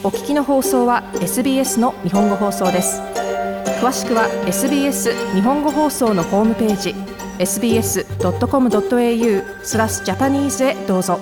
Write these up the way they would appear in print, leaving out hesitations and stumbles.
お聞きの放送は SBS の日本語放送です。詳しくは SBS 日本語放送のホームページ sbs.com.au/Japanese へどうぞ。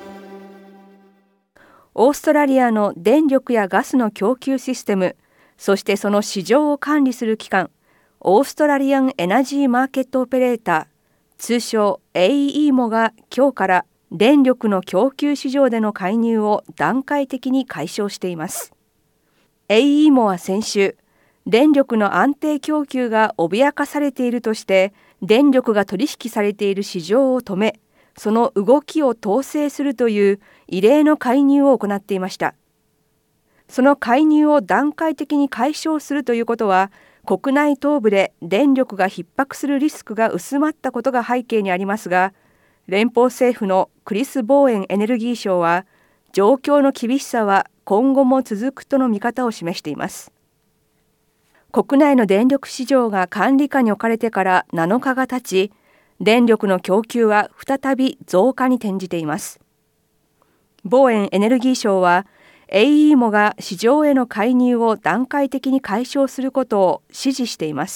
オーストラリアの電力やガスの供給システム、そしてその市場を管理する機関、オーストラリアンエナジーマーケットオペレーター、通称 AEMO が今日から電力の供給市場での介入を段階的に解消しています。AEMO は先週、電力の安定供給が脅かされているとして、電力が取引されている市場を止め、その動きを統制するという異例の介入を行っていました。その介入を段階的に解消するということは、国内東部で電力が逼迫するリスクが薄まったことが背景にありますが、連邦政府のクリス・ボーエンエネルギー相は、状況の厳しさは今後も続くとの見方を示しています。国内の電力市場が管理下に置かれてから7日が経ち、電力の供給は再び増加に転じています。ボーエンエネルギー相は、AEMO が市場への介入を段階的に解消することを指示しています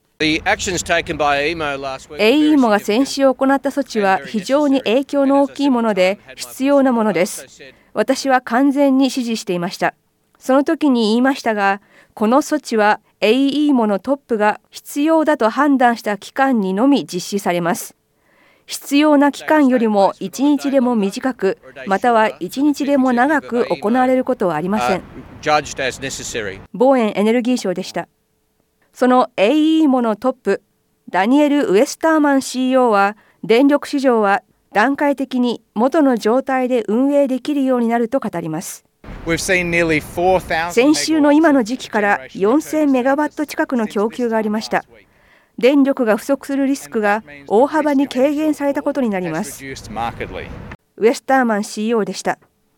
。AEMO が先週行った措置は非常に影響の大きいもので必要なものです。私は完全に支持していました。その時に言いましたが、この措置は AEMO のトップが必要だと判断した期間にのみ実施されます。必要な期間よりも1日でも短く、または1日でも長く行われることはありません。ボーエンエネルギー相でした。その AEMO のトップ、ダニエル・ウエスターマン CEO は、電力市場は段階的に元の状態で運営できるようになると語ります。先週の今の時期から4000メガワット近くの供給がありました。電力が不足するリスクが大幅に軽減されたことになります。ウエスターマン CEO でした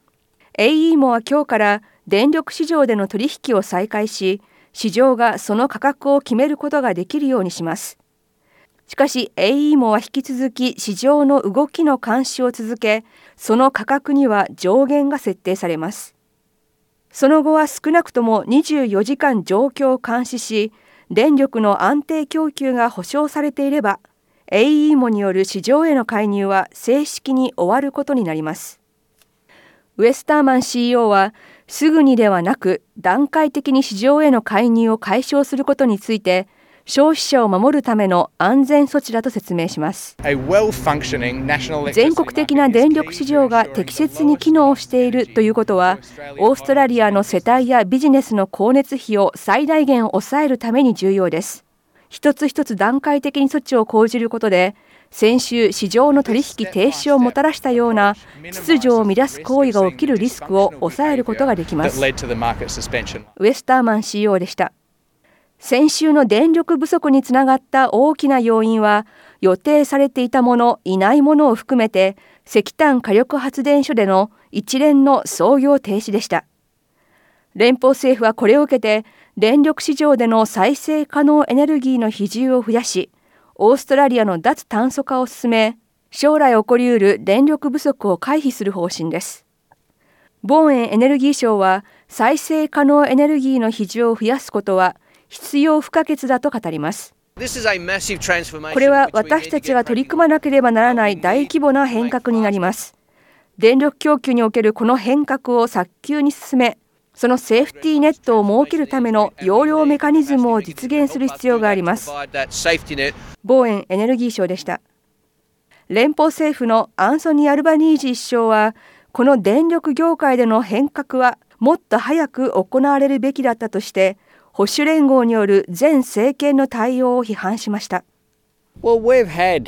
。AEMO は今日から電力市場での取引を再開し、市場がその価格を決めることができるようにします。しかし AEMO は引き続き市場の動きの監視を続け、その価格には上限が設定されます。その後は少なくとも24時間状況を監視し、電力の安定供給が保証されていれば、AEMO による市場への介入は正式に終わることになります。ウエスターマン CEO は、すぐにではなく段階的に市場への介入を解消することについて、消費者を守るための安全措置だと説明します。全国的な電力市場が適切に機能しているということは、オーストラリアの世帯やビジネスの光熱費を最大限抑えるために重要です。一つ一つ段階的に措置を講じることで、先週市場の取引停止をもたらしたような秩序を乱す行為が起きるリスクを抑えることができます。ウエスターマン CEO でした。先週の電力不足につながった大きな要因は、予定されていたもの、いないものを含めて石炭火力発電所での一連の操業停止でした。連邦政府はこれを受けて、電力市場での再生可能エネルギーの比重を増やし、オーストラリアの脱炭素化を進め、将来起こりうる電力不足を回避する方針です。ボーエンエネルギー相は、再生可能エネルギーの比重を増やすことは必要不可欠だと語ります。これは私たちが取り組まなければならない大規模な変革になります。電力供給におけるこの変革を早急に進め、そのセーフティーネットを設けるための容量メカニズムを実現する必要があります。ボーエンエネルギー相でした。連邦政府のアンソニー・アルバニージー首相は、この電力業界での変革はもっと早く行われるべきだったとして、保守連合による前政権の対応を批判しました。これ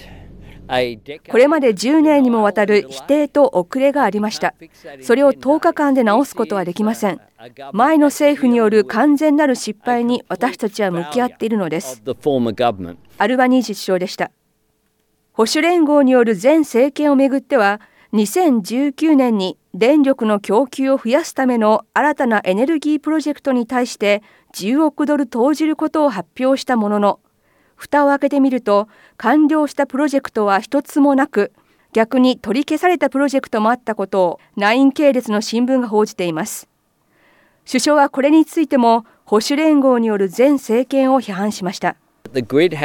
まで10年にもわたる否定と遅れがありました。それを10日間で直すことはできません。前の政府による完全なる失敗に私たちは向き合っているのです。アルバニージー首相でした。保守連合による前政権をめぐっては、2019年に電力の供給を増やすための新たなエネルギープロジェクトに対して10億ドル投じることを発表したものの、蓋を開けてみると完了したプロジェクトは一つもなく、逆に取り消されたプロジェクトもあったことをナイン系列の新聞が報じています。 首相はこれについても保守連合による前政権を批判しました。電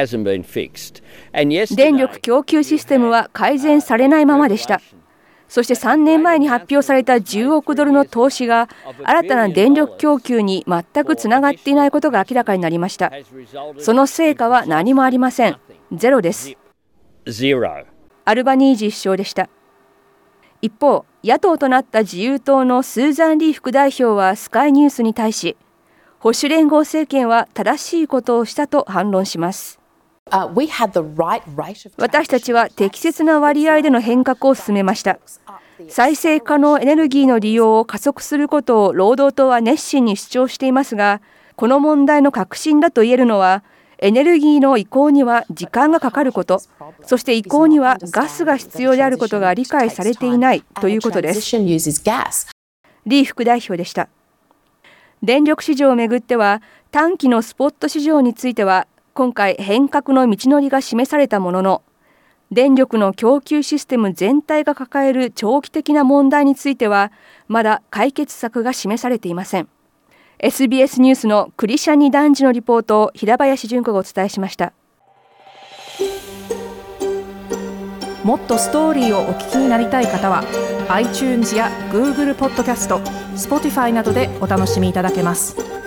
力供給システムは改善されないままでした。そして3年前に発表された10億ドルの投資が新たな電力供給に全くつながっていないことが明らかになりました。その成果は何もありません。ゼロです。アルバニージー首相でした。一方、野党となった自由党のスーザン・リー副代表はスカイニュースに対し、保守連合政権は正しいことをしたと反論します。私たちは適切な割合での変革を進めました。再生可能エネルギーの利用を加速することを労働党は熱心に主張していますが、この問題の核心だと言えるのは、エネルギーの移行には時間がかかること、そして移行にはガスが必要であることが理解されていないということです。リー副代表でした。電力市場をめぐっては、短期のスポット市場については、今回変革の道のりが示されたものの、電力の供給システム全体が抱える長期的な問題については、まだ解決策が示されていません。SBS ニュースのクリシャニ男児のリポートを平林純子がお伝えしました。 もっとストーリーをお聞きになりたい方は iTunes や Google ポッドキャスト、Spotify などでお楽しみいただけます。